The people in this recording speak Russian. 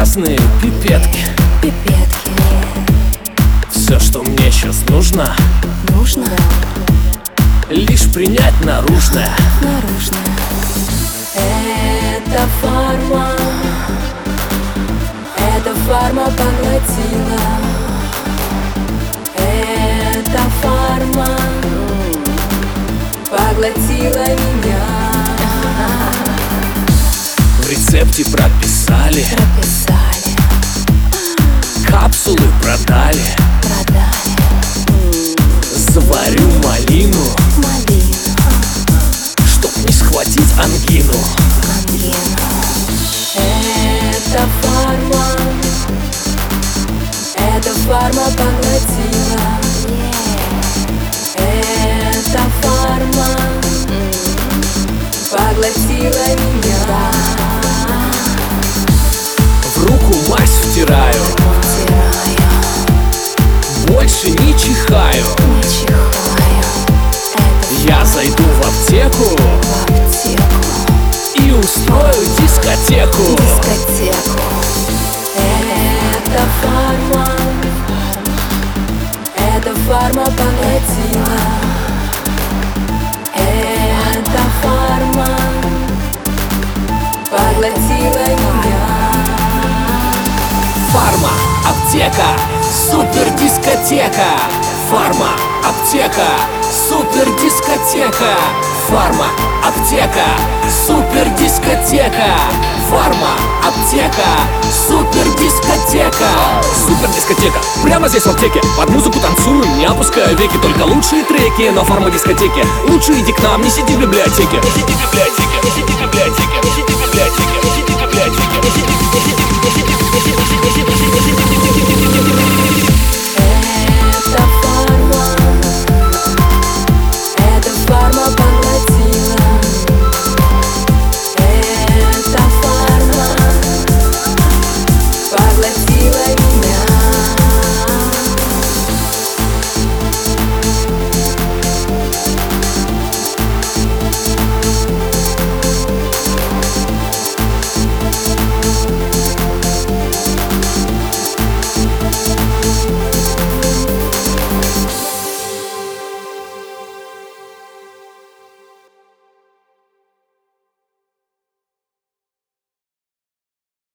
разные пипетки. Все, что мне сейчас нужно, лишь принять наружное. Это фарма, эта фарма поглотила. Эта фарма поглотила меня. В рецепте прописали, капсулы продали. Заварю малину, чтоб не схватить ангину. Эта фарма поглотила. Эта фарма поглотила меня. В руку мазь втираю, больше не чихаю. Я зайду в аптеку и устрою дискотеку. Эта фарма поглотила. Эта фарма поглотила меня. Фарма, аптека, супер дискотека. Фарма, аптека, супер дискотека. Фарма, аптека, супер дискотека. Фарма, аптека, супер дискотека. Супер дискотека, прямо здесь в аптеке. Под музыку танцую, не опускаю веки. Только лучшие треки на фарма дискотеке. Лучше иди к нам, не сиди в библиотеке. Не сиди в библиотеке, не сиди в библиотеке, не сиди в библиотеке, не сиди в библиотеке, не сиди в библиотеке, не сиди в библиотеке.